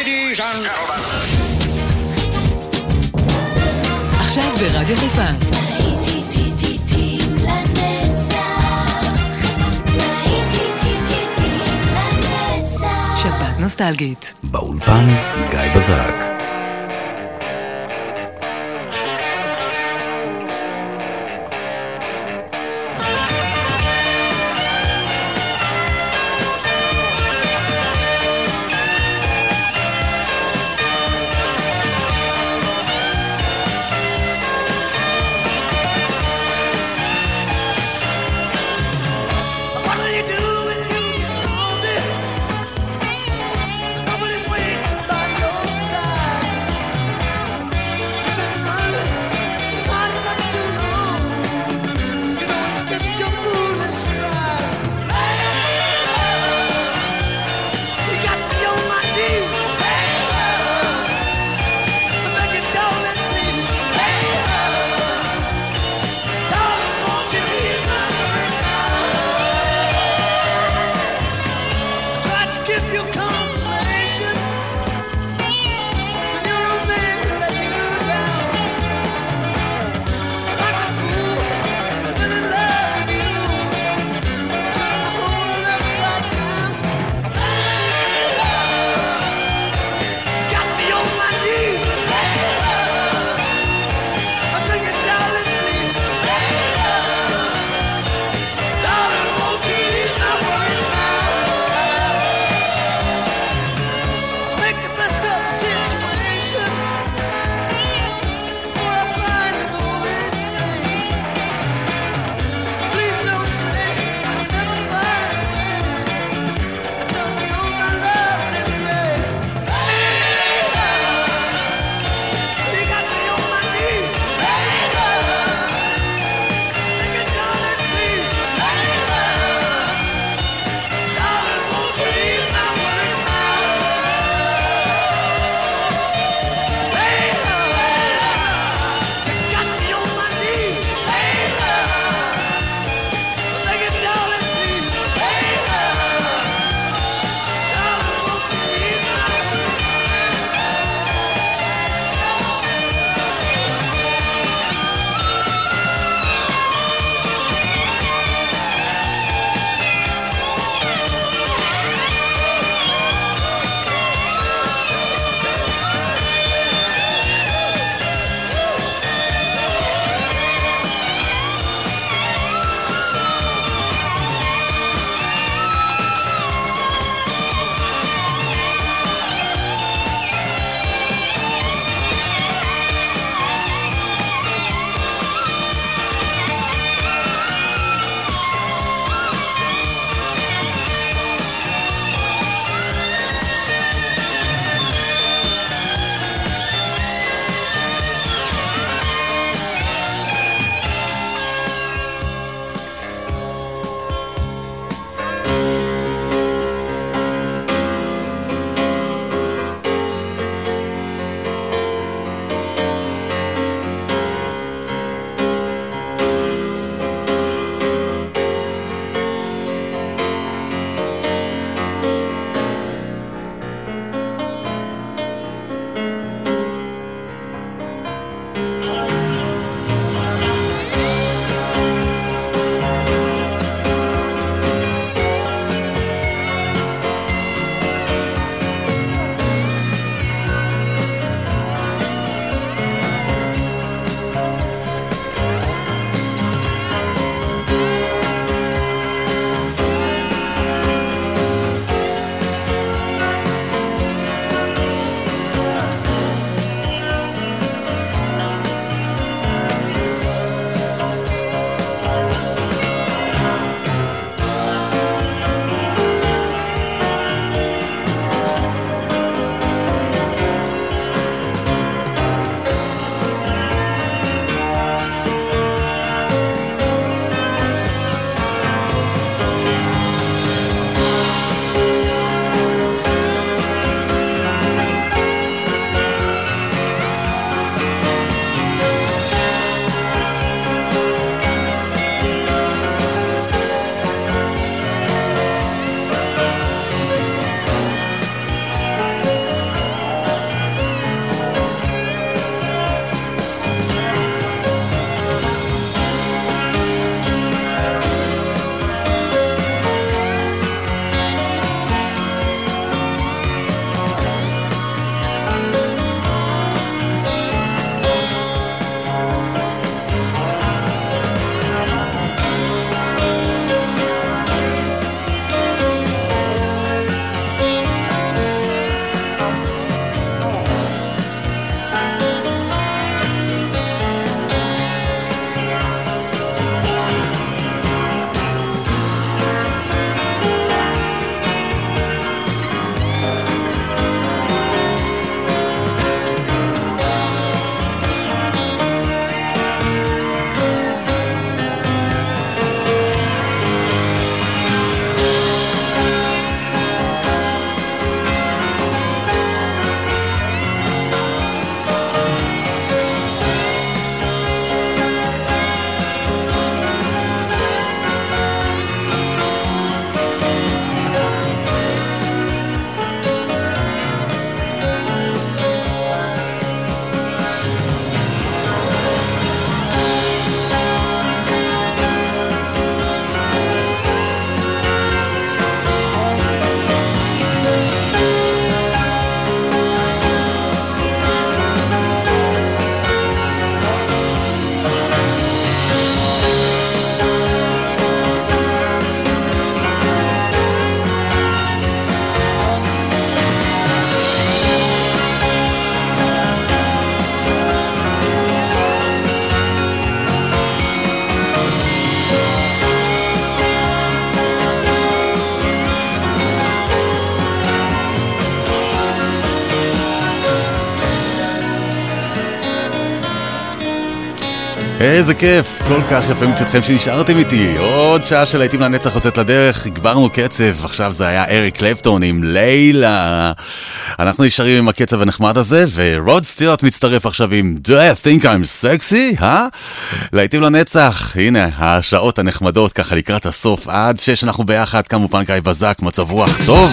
Ladies and gentlemen. עכשיו ברדיו חיפה. שבת נוסטלגית. באולפן גיא בזק. Nobody's waiting by your side. איזה כיף, כל כך יפה מצדכם שנשארתם איתי. עוד שעה של להיטים לנצח יוצאת לדרך, הגברנו קצב, עכשיו זה היה אריק קלפטון עם לילה. אנחנו נשארים עם הקצב הנחמד הזה, ורוד סטיוארט מצטרף עכשיו עם Do I think I'm sexy? להיטים לנצח, הנה השעות הנחמדות ככה לקראת הסוף, עד 6 אנחנו ביחד, כמובן גיא בזק, מצב רוח טוב.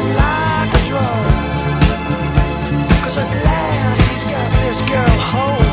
At last he's got this girl home.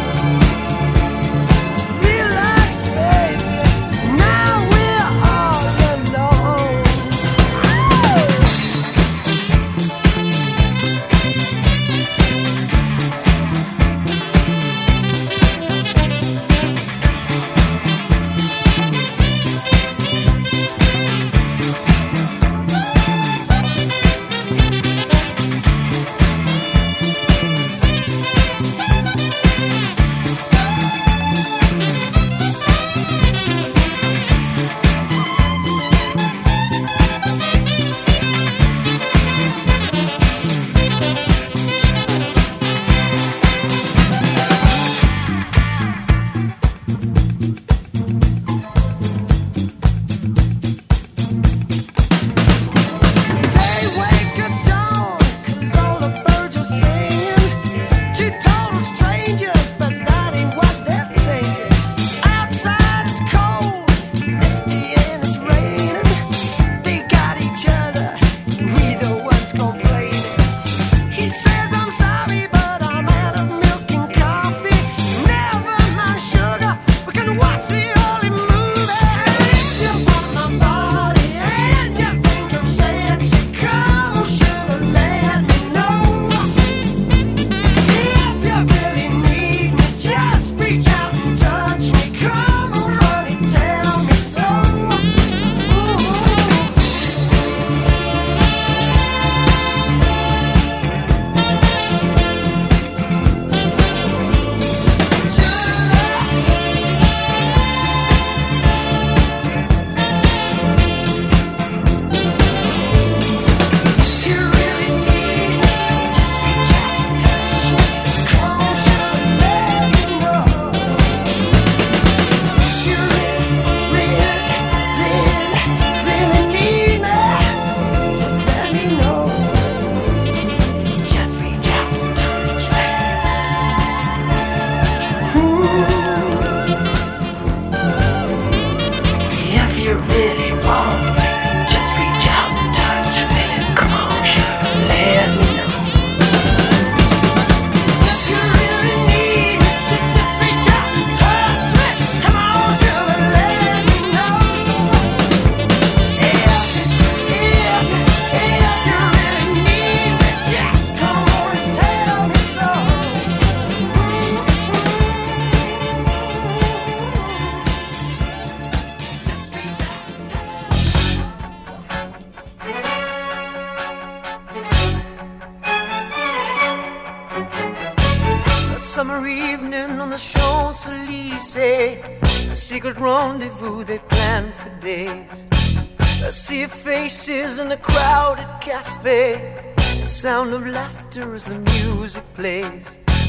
the Champs-Élysées, a secret rendezvous they planned for days. A sea of faces in a crowded cafe, the sound of laughter as the music plays.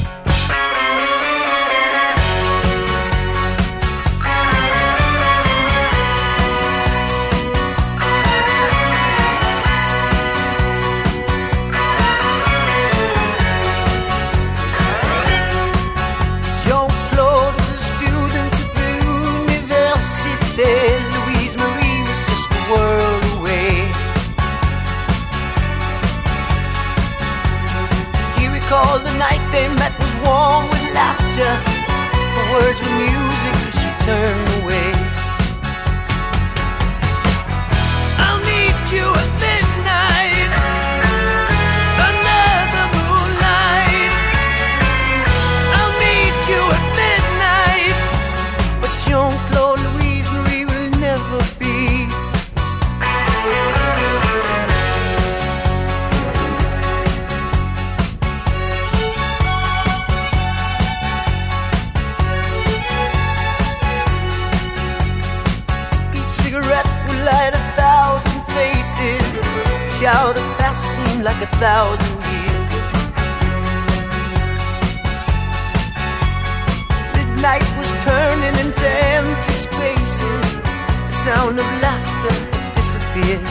Jean-Claude was a student at the Université. Louise Marie was just a world away. He recalled the night they met was warm with laughter. The words were music as she turned away. I'll meet you at midnight under the moonlight. I'll meet you at midnight, but Jean-Claude, Louise Marie will never be. Each cigarette will light 1,000 faces. Shower the past seemed like 1,000 years. Midnight was turning into empty spaces. The sound of laughter disappeared.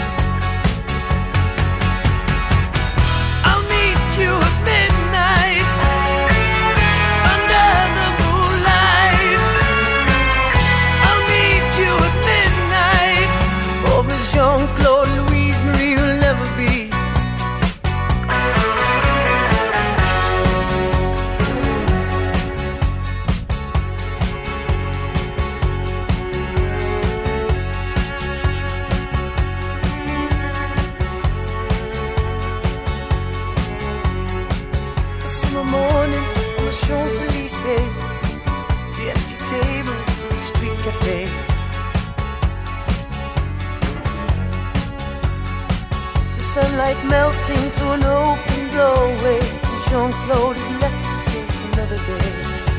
I'll meet you at midnight under the moonlight. I'll meet you at midnight. Oh, but Jean-Claude, Louise Marie will never be. A summer morning on the Champs-Élysées, the empty table, the street cafes. The sunlight melting through an open doorway, and Jean-Claude is left to face another day.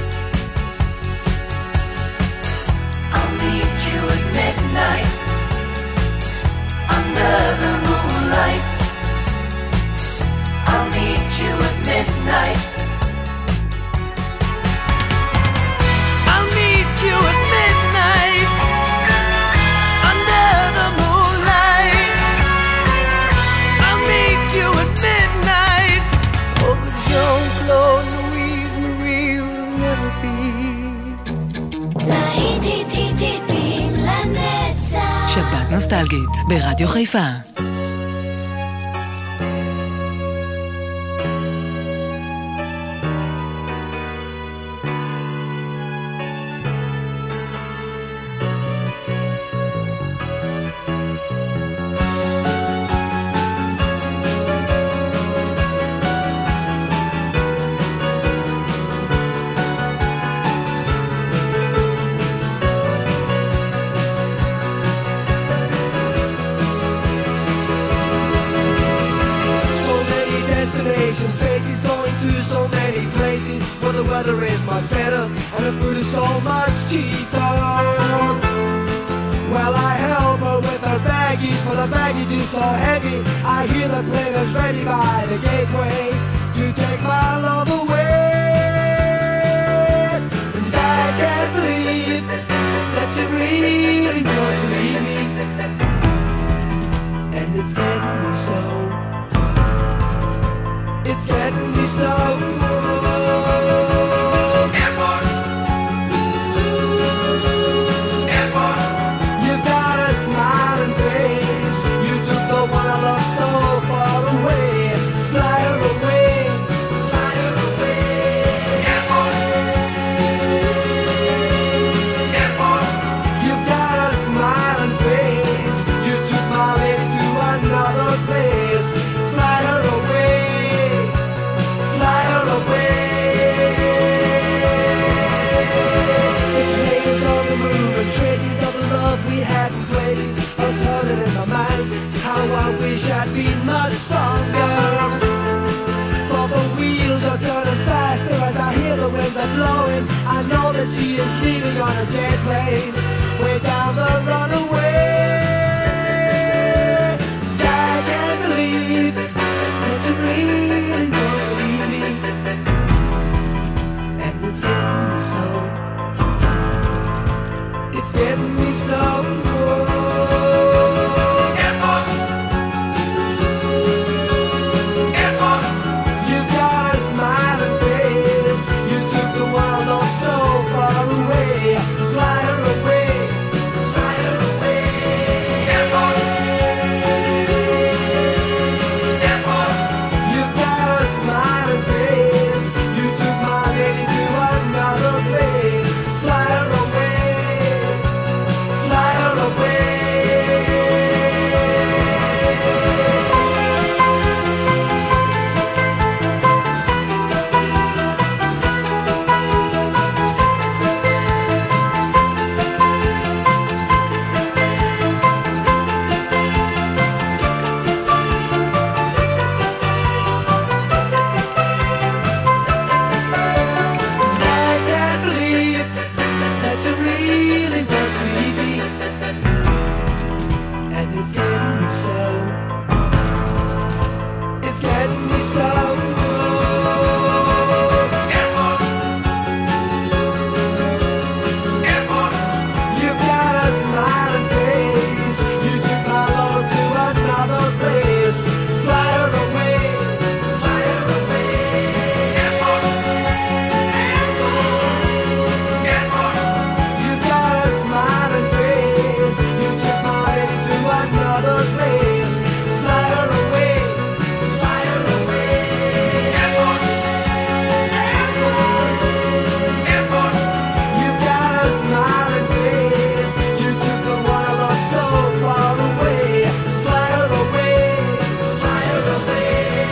I'll meet you at midnight under the moonlight. I'll meet you at midnight. I'll meet you at midnight under the moonlight. I'll meet you at midnight. Oh, but Jean-Claude, Louise Marie will never be. להיטים לנצח. שבת נוסטלגית ברדיו חיפה. Faces going to so many places where the weather is much better and the food is so much cheaper. Well, I help her with her baggies, for the baggage is so heavy. I hear the players ready by the gateway to take my love away. And I can't believe that you really want to leave me. And it's getting me so. It's getting me so. Airport. Airport. You've got a smiling face. You took the one I love so far away. Fly her away. Fly her away. Airport. Airport. You've got a smiling face. You took my lady to another place. Fly her away. Fly her away. The places on the move and traces of the love we had in places are turning in my mind. How I wish I'd been much stronger. For the wheels are turning faster as I hear the winds are blowing. I Reality is leaving on a jet plane, way down the runaway. I can't believe that you really was leaving, and it's getting me so. It's getting me so good. You've got a smiling face. You took the world all so far away. Fly her away, fly her away. You've got a smiling face. You took my lady to another place. Fly her away, fly her away. I can't believe that you really was sleepy, and it's getting me so. It's getting me so You've got a smiling face. You took my love to another place. Fly her away, fly her away. You've got a smiling face. You took my lady to another place. Fly her away, fly her away. You've got a smiling face. You took the one I love so far away. Fly her away, fly her away.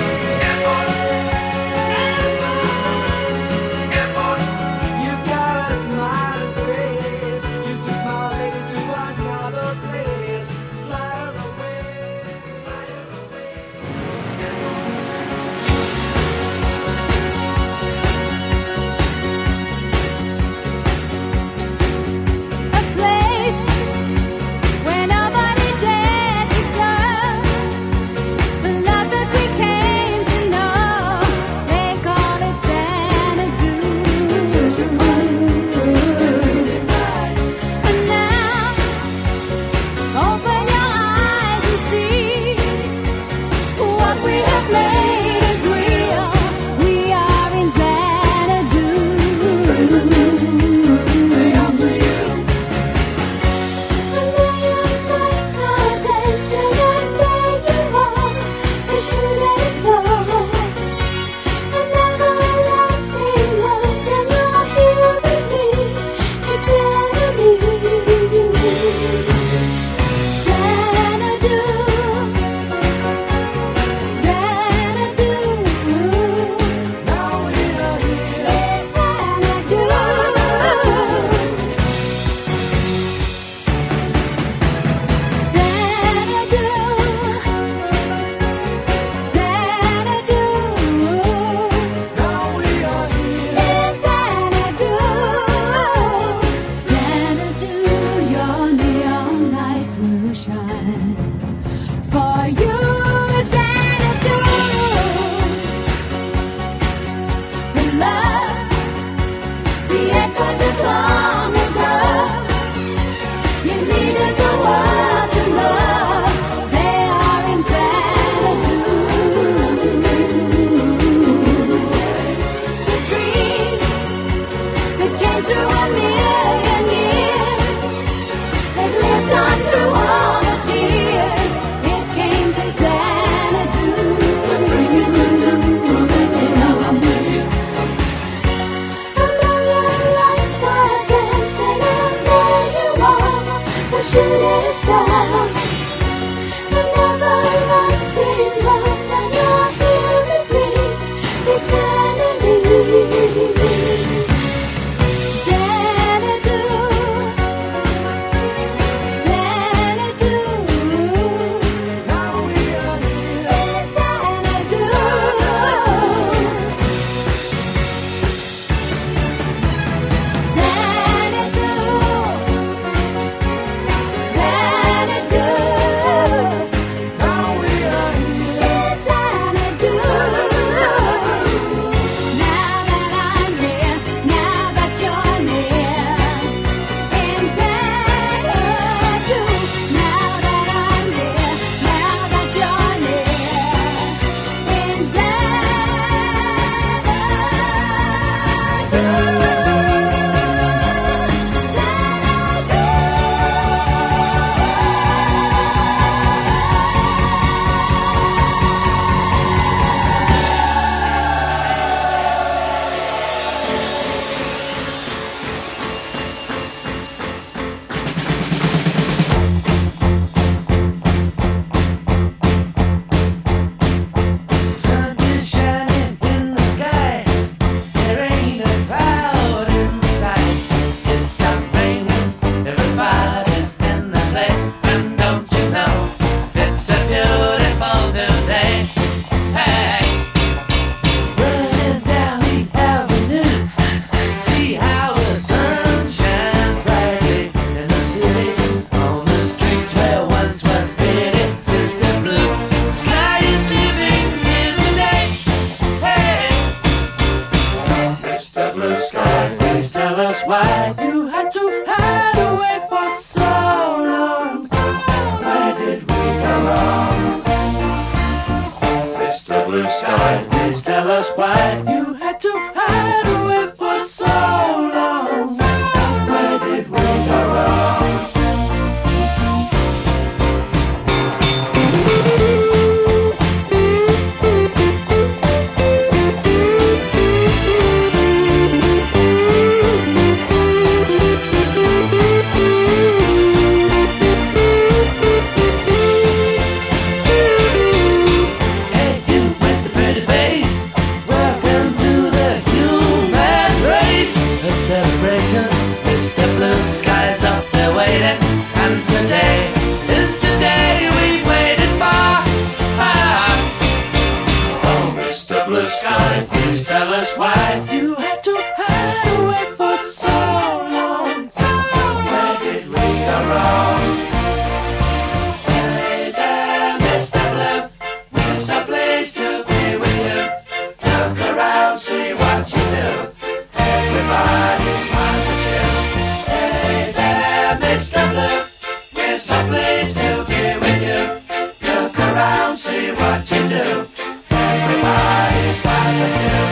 You've got a smiling face. You took my lady to another place. Fly her away, fly her away. A place where nobody dared to go. The love that we came to know, they call it Xanadu. And now, open your eyes and see what we have made is real. We are in Xanadu. A million lights are dancing and there you are, the shooting star. An everlasting love, and you're here with me eternally. Xanadu, Xanadu. Now we are here. It's Xanadu. Xanadu, Xanadu. Now we are here. It's Xanadu. Xanadu, your neon lights will shine for you. Xanadu, the love, the echoes of long ago. You needed the world to know they are in Xanadu. The dream that came through a million years, that lived on through all the tears, it came to Xanadu. A million lights are dancing and there you are, the shooting star. An everlasting love, and you're here with me eternally. Xanadu, Xanadu. Now we are here. It's Xanadu. Xanadu. us why you had to hide away for so long. Where did we go wrong? Mr. Blue Sky, please tell us why you had to hide away for so long. Where did we go wrong? Sky, please tell us why you had to hide away for so long. Where did we go wrong? Hey there, Mr. Blue, it's a place to be with you. Look around, see what you do. Everybody smiles at you. Hey there, Mr. Blue, it's a place to be with you. Look around, see what you do. Everybody smiles at you.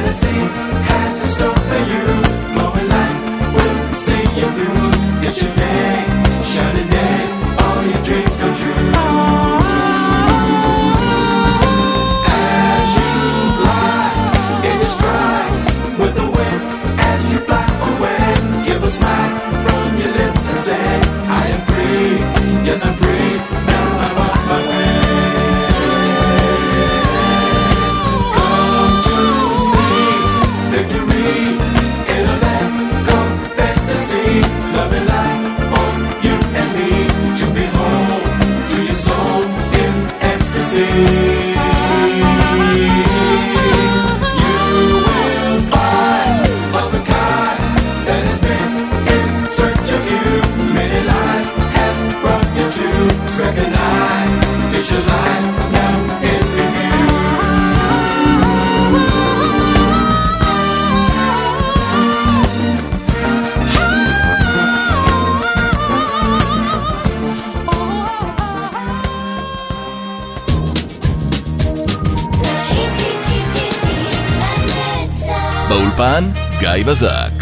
Tennessee has in store for you. Flowing light will see you through. It's your day, shining day, all your dreams come true. As you glide in your stride with the wind, as you fly away, give a smile from your lips and say, I am free, yes I'm free, now I'm on my way. Come to see victory in a land called fantasy. Love and light for you and me to behold. To your soul is ecstasy. You will find of a kind that has been in search of you. Many lives has brought you to recognize it's your life now in review. באולפן גיא בזק.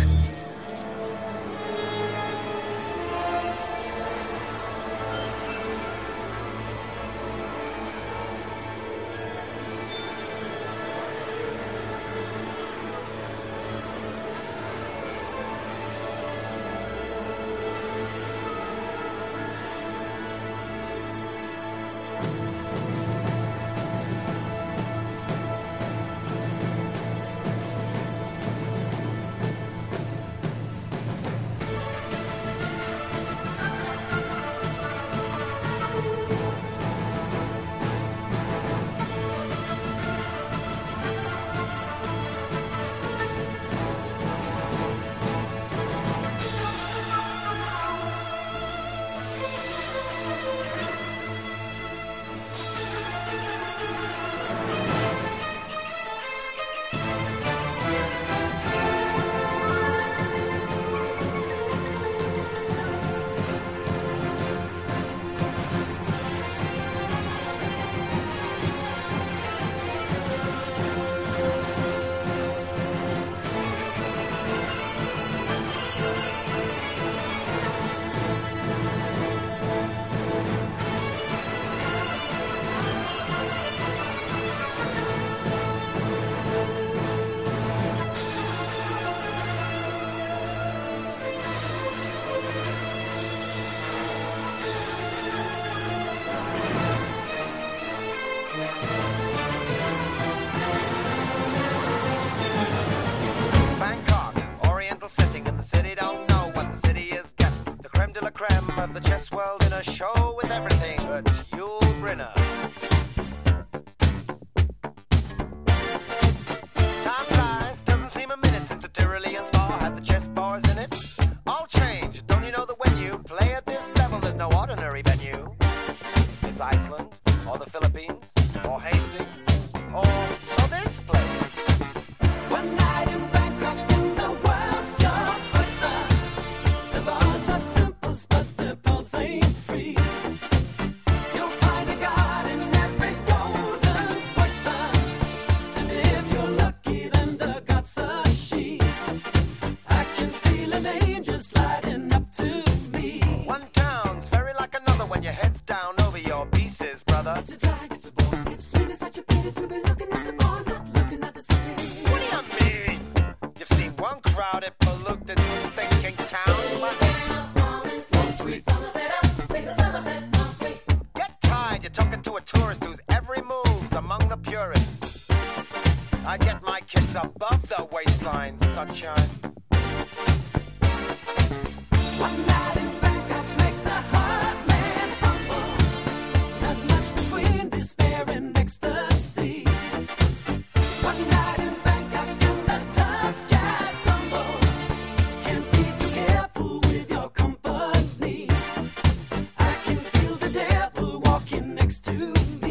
Of the chess world in a show with everything but Yul Brynner. Time flies, doesn't seem a minute since the Tyrolean Spa had the chess bars in it. All change, don't you know that when you play at this level, there's no ordinary venue? It's Iceland, or the Philippines, or Hastings, or this place. One night in Bangkok in the world's your oyster. The bars are temples, but the pulse ain't free. You'll find a god in every golden oyster, and if you're lucky, then the god's a she. I can feel an angel sliding up to me. One town's very like another when your head's down over your pieces, brother. It's a drag, it's a bore. It's really such a pity to be looking at the bar, not looking at the city. What do you mean? You've seen one crowded, polluted, thinking town. Get tired, you're talking to a tourist whose every move's among the purists. I get my kids above the waistline, sunshine. One night in Bangkok makes a hard man humble. Not much between despair and ecstasy. One night in Bangkok and the tough guys tumble. Can't be too careful with your company. I can feel the devil walking next to me.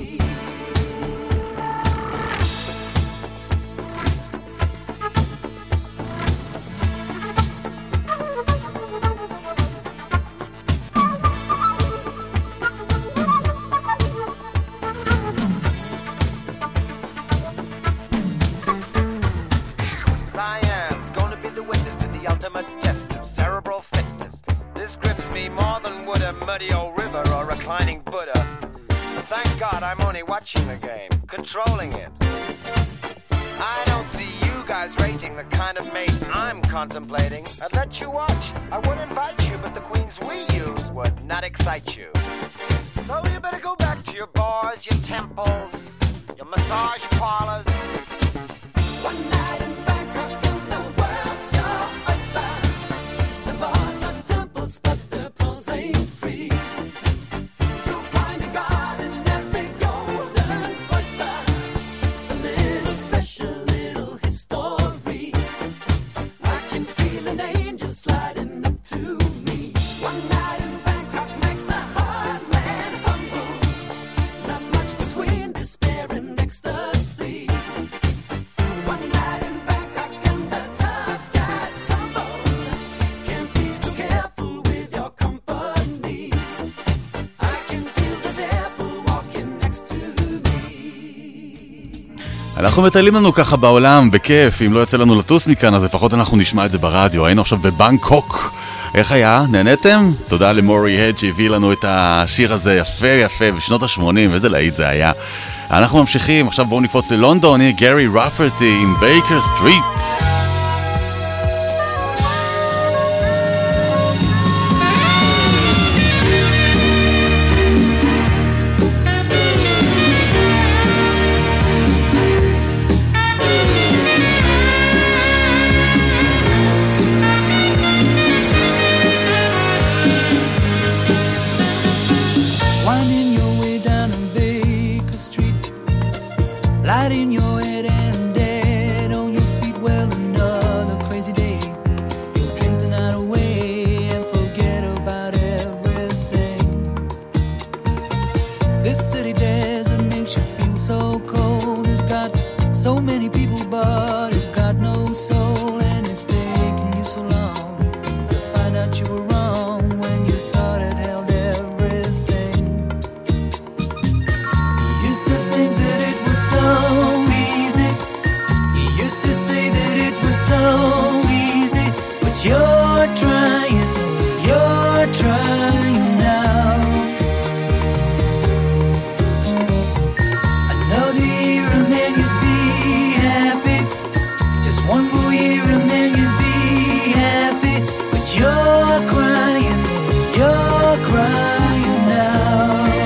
ultimate test of cerebral fitness. This grips me more than would a muddy old river or reclining Buddha. But thank God I'm only watching the game, controlling it. I don't see you guys rating the kind of mate I'm contemplating. I'd let you watch, I would invite you, but the queens we use would not excite you. So you better go back to your bars, your temples, your massage parlors. One night in Bangkok and the world's your oyster. The bars are temples, but the pearls ain't free. You'll find a god in every golden oyster. A little special little history. I can feel an angel sliding up to me. One night in Bangkok makes a hard man humble. Not much between despair and ecstasy. One night in Bangkok and the tough guys tumble. Can't be too careful with your company. I can feel the devil walking next to me. אנחנו מטיילים לנו ככה בעולם בכיף, אם לא יוצא לנו לטוס מכאן אז לפחות אנחנו נשמע את זה ברדיו. היינו עכשיו בבנקוק, איך היה? נהנתם? תודה למורי הד שהביא לנו את השיר הזה יפה יפה בשנות ה-80, איזה להיט זה היה. אנחנו ממשיכים, עכשיו בואו נקפוץ ללונדון, הנה גרי רפרטי עם בייקר סטריט. Winding your way down on Baker Street, light in your head and dead on your feet. Well, another crazy day. You'll drink the night away and forget about everything. This city desert makes you feel so cold. It's got so many people, but it's got no soul, and it's taken you so long to find out you were wrong when you thought it held everything. You used to think that it was so easy. You used to say that it was so easy, but you're trying now. Another year and then you'd be happy. Just one more year and then you'd be happy, but you're crying now.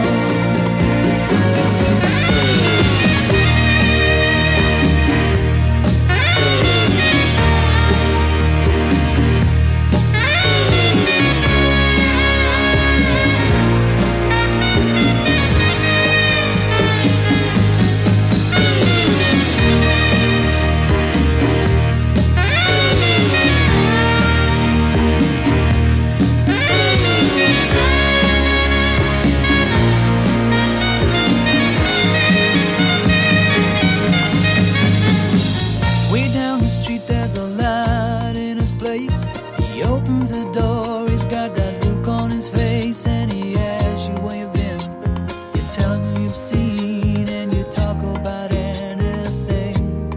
Way down the street there's a light in his place. He opens the door, he's got that look on his face, and he asks you where you've been. You tell him who you've seen, and you talk about anything.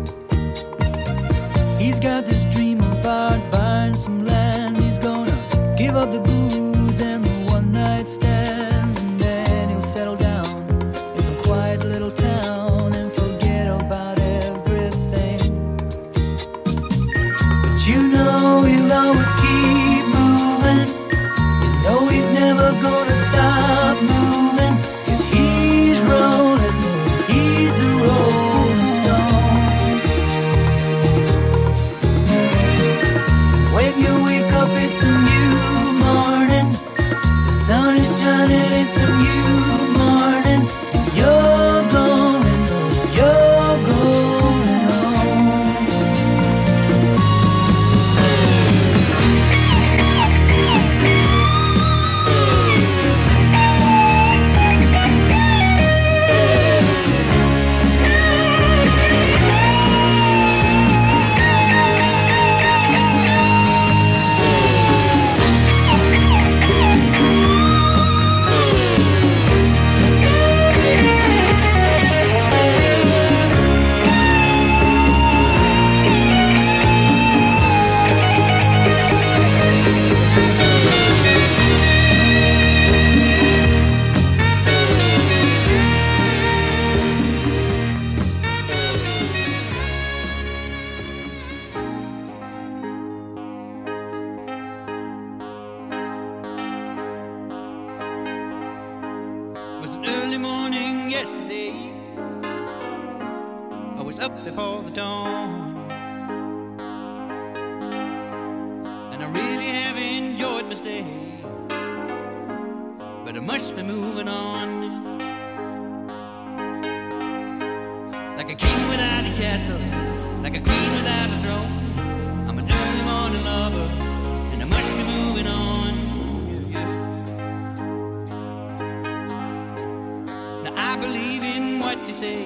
He's got this dream about buying some land. He's gonna give up the booze and the one night stands, and then he'll settle down in some quiet little town and forget about everything. But you know he'll always keep moving. You know he's never gonna stop moving, 'cause he's rolling, he's the rolling stone. When you wake up it's a new morning. yesterday. I was up before the dawn, and I really have enjoyed my stay, but I must be moving on. Like a king without a castle, like a queen without a throne, I'm an early morning lover, and I must be moving on. Now I believe in what you say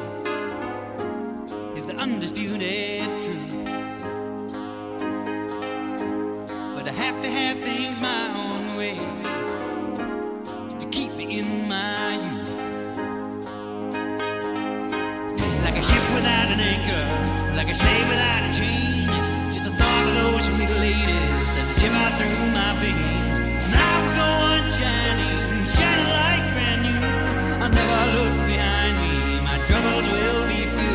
is the undisputed truth, but I have to have things my own way to keep me in my youth. Like a ship without an anchor, like a slave without a chain, just the thought of those sweet ladies as they shiver through my veins. And I will go on shining, shining like brand new. I'll never look behind me, my troubles will be few.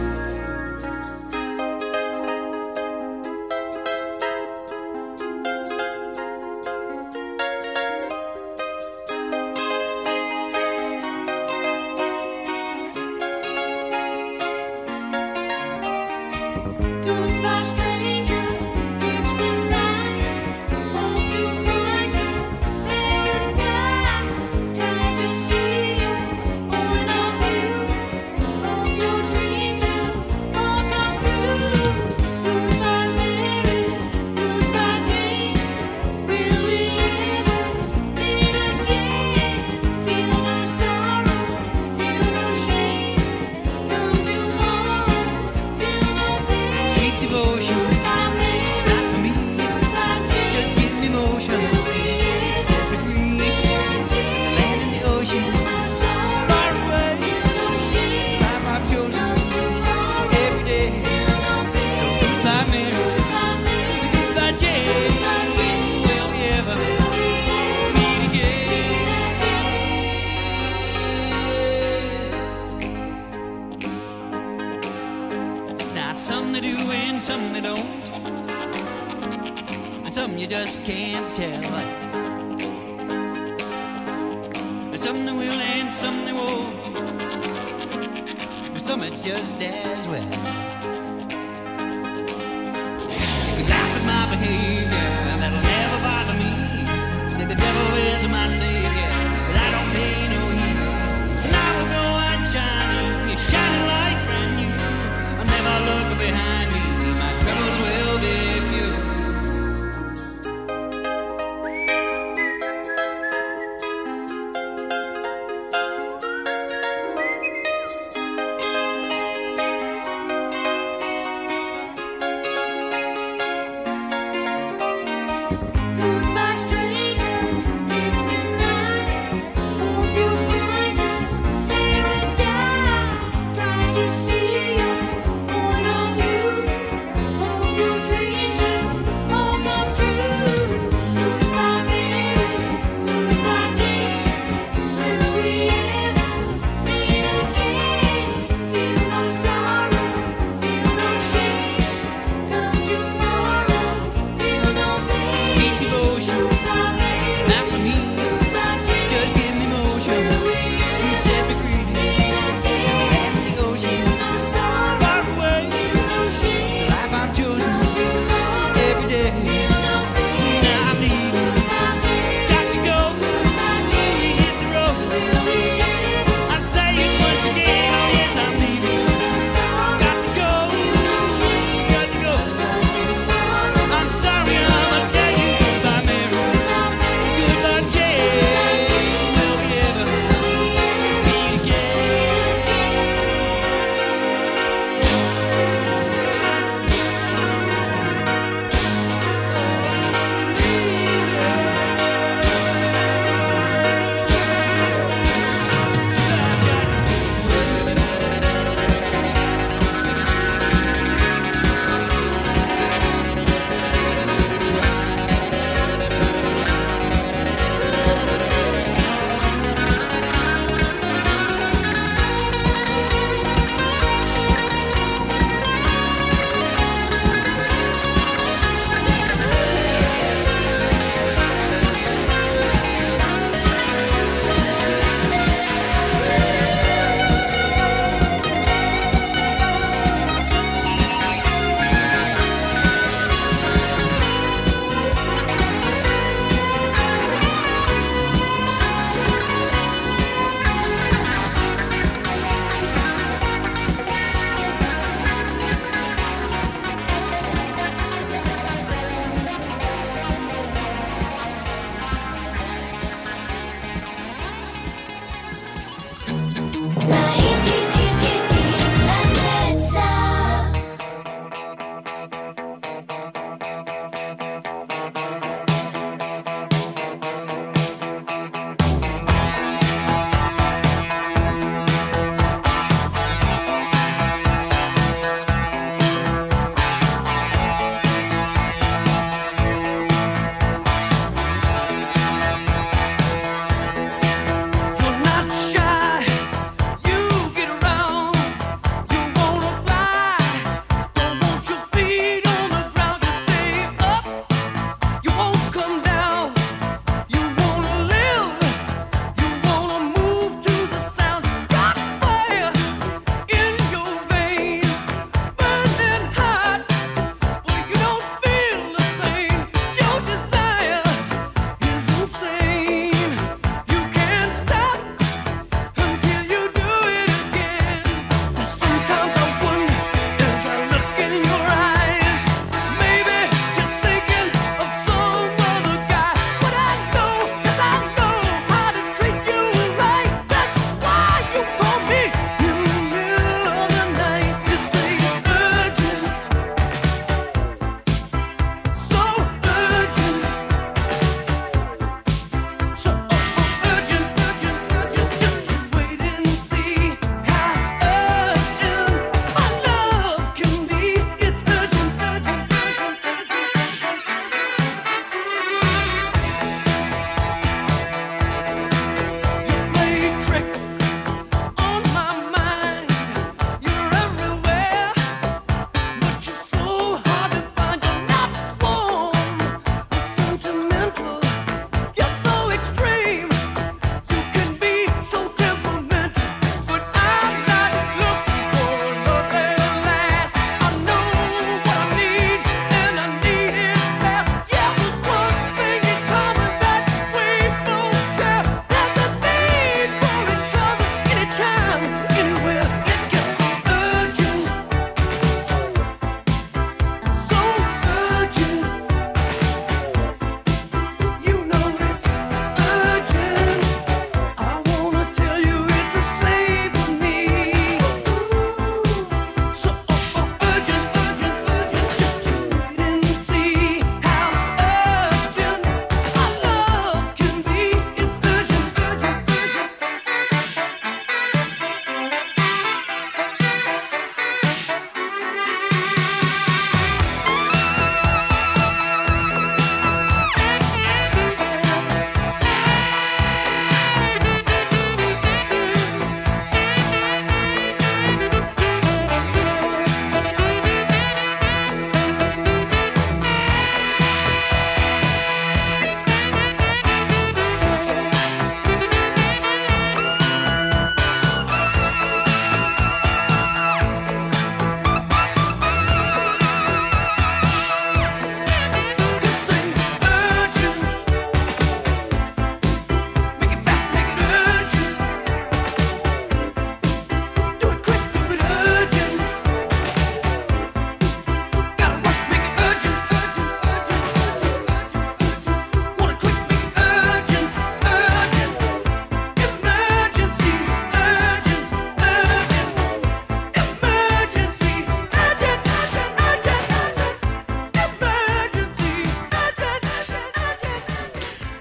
Goodbye, stranger. It's been nice. Hope you find your paradise. Try to see you, point of view of your dreams will all come true. Goodbye, Mary. Goodbye, Jane. Will we ever meet again? Feel no sorrow, feel no shame. Come tomorrow, feel no pain. Sweet devotion, Goodbye, Mary. it's not for me. Goodbye, Jane. Just give me motion, set me free. The land and the ocean, far away. Life I've chosen every day. So goodbye, Mary. Goodbye, Jane. Will we ever meet again? Now some they do and some they don't, and some you just can't tell. And some they will and some they won't, and some it's just as well. You can laugh at my behavior, that'll never bother me. Say the devil is my savior, but I don't pay no heed. And I will go on shining, you're shining like brand new. I'll never look behind me, my troubles will be few.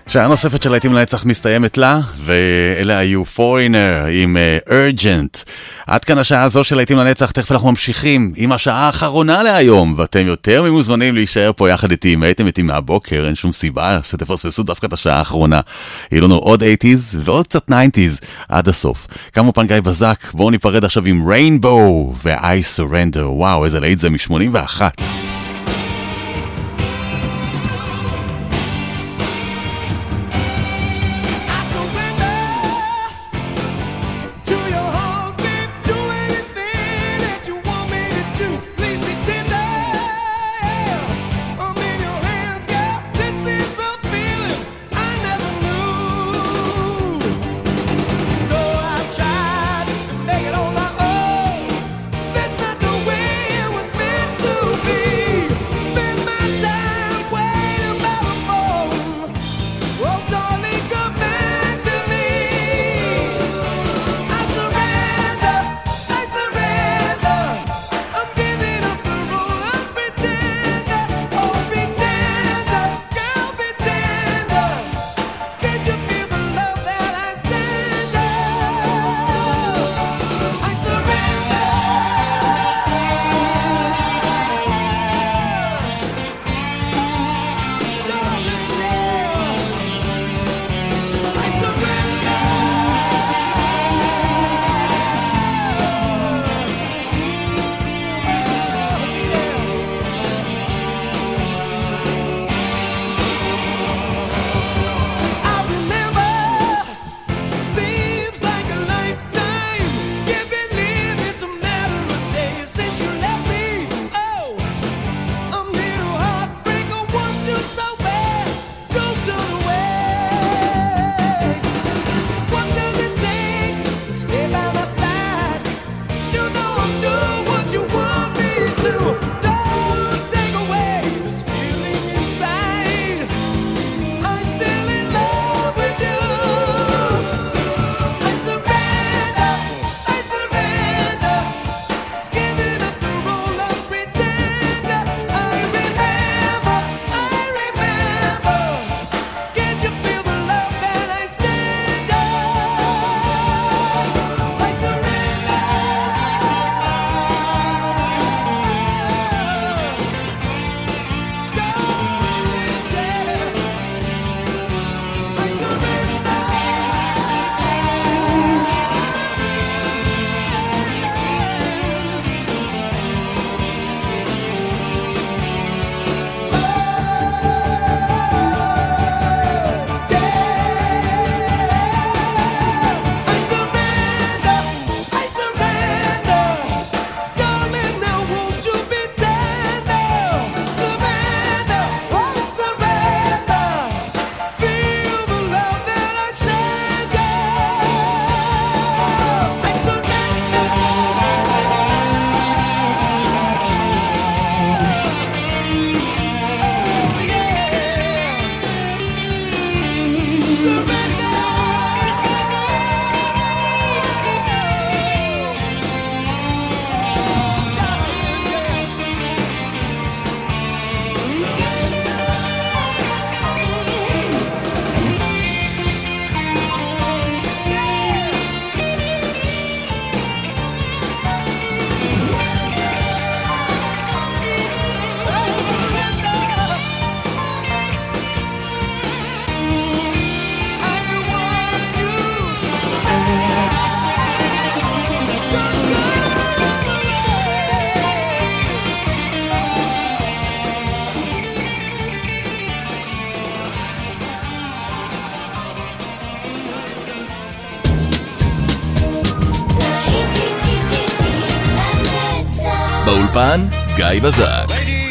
שעה נוספת של להיטים לנצח מסתיימת לה, ואלה היו Foreigner עם Urgent. עד כאן השעה הזו של להיטים לנצח, תכף אנחנו ממשיכים עם השעה האחרונה להיום, ואתם יותר ממוזמנים להישאר פה יחד איתי, אם הייתם איתי מהבוקר, אין שום סיבה שתפספסו דווקא את השעה האחרונה. יהיו לנו עוד 80s ועוד קצת 90s עד הסוף. כמובן גיא בזק, בואו ניפרד עכשיו עם Rainbow ו-I Surrender. וואו, איזה להיט זה מ-81. באולפן גיא בזק.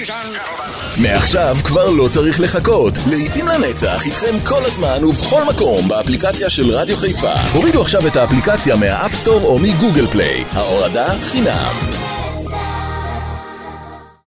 מעכשיו כבר לא צריך לחכות. להיטים לנצח איתכם כל הזמן ובכל מקום באפליקציה של רדיו חיפה. הורידו עכשיו את האפליקציה מהאפסטור או מגוגל פליי. ההורדה חינם.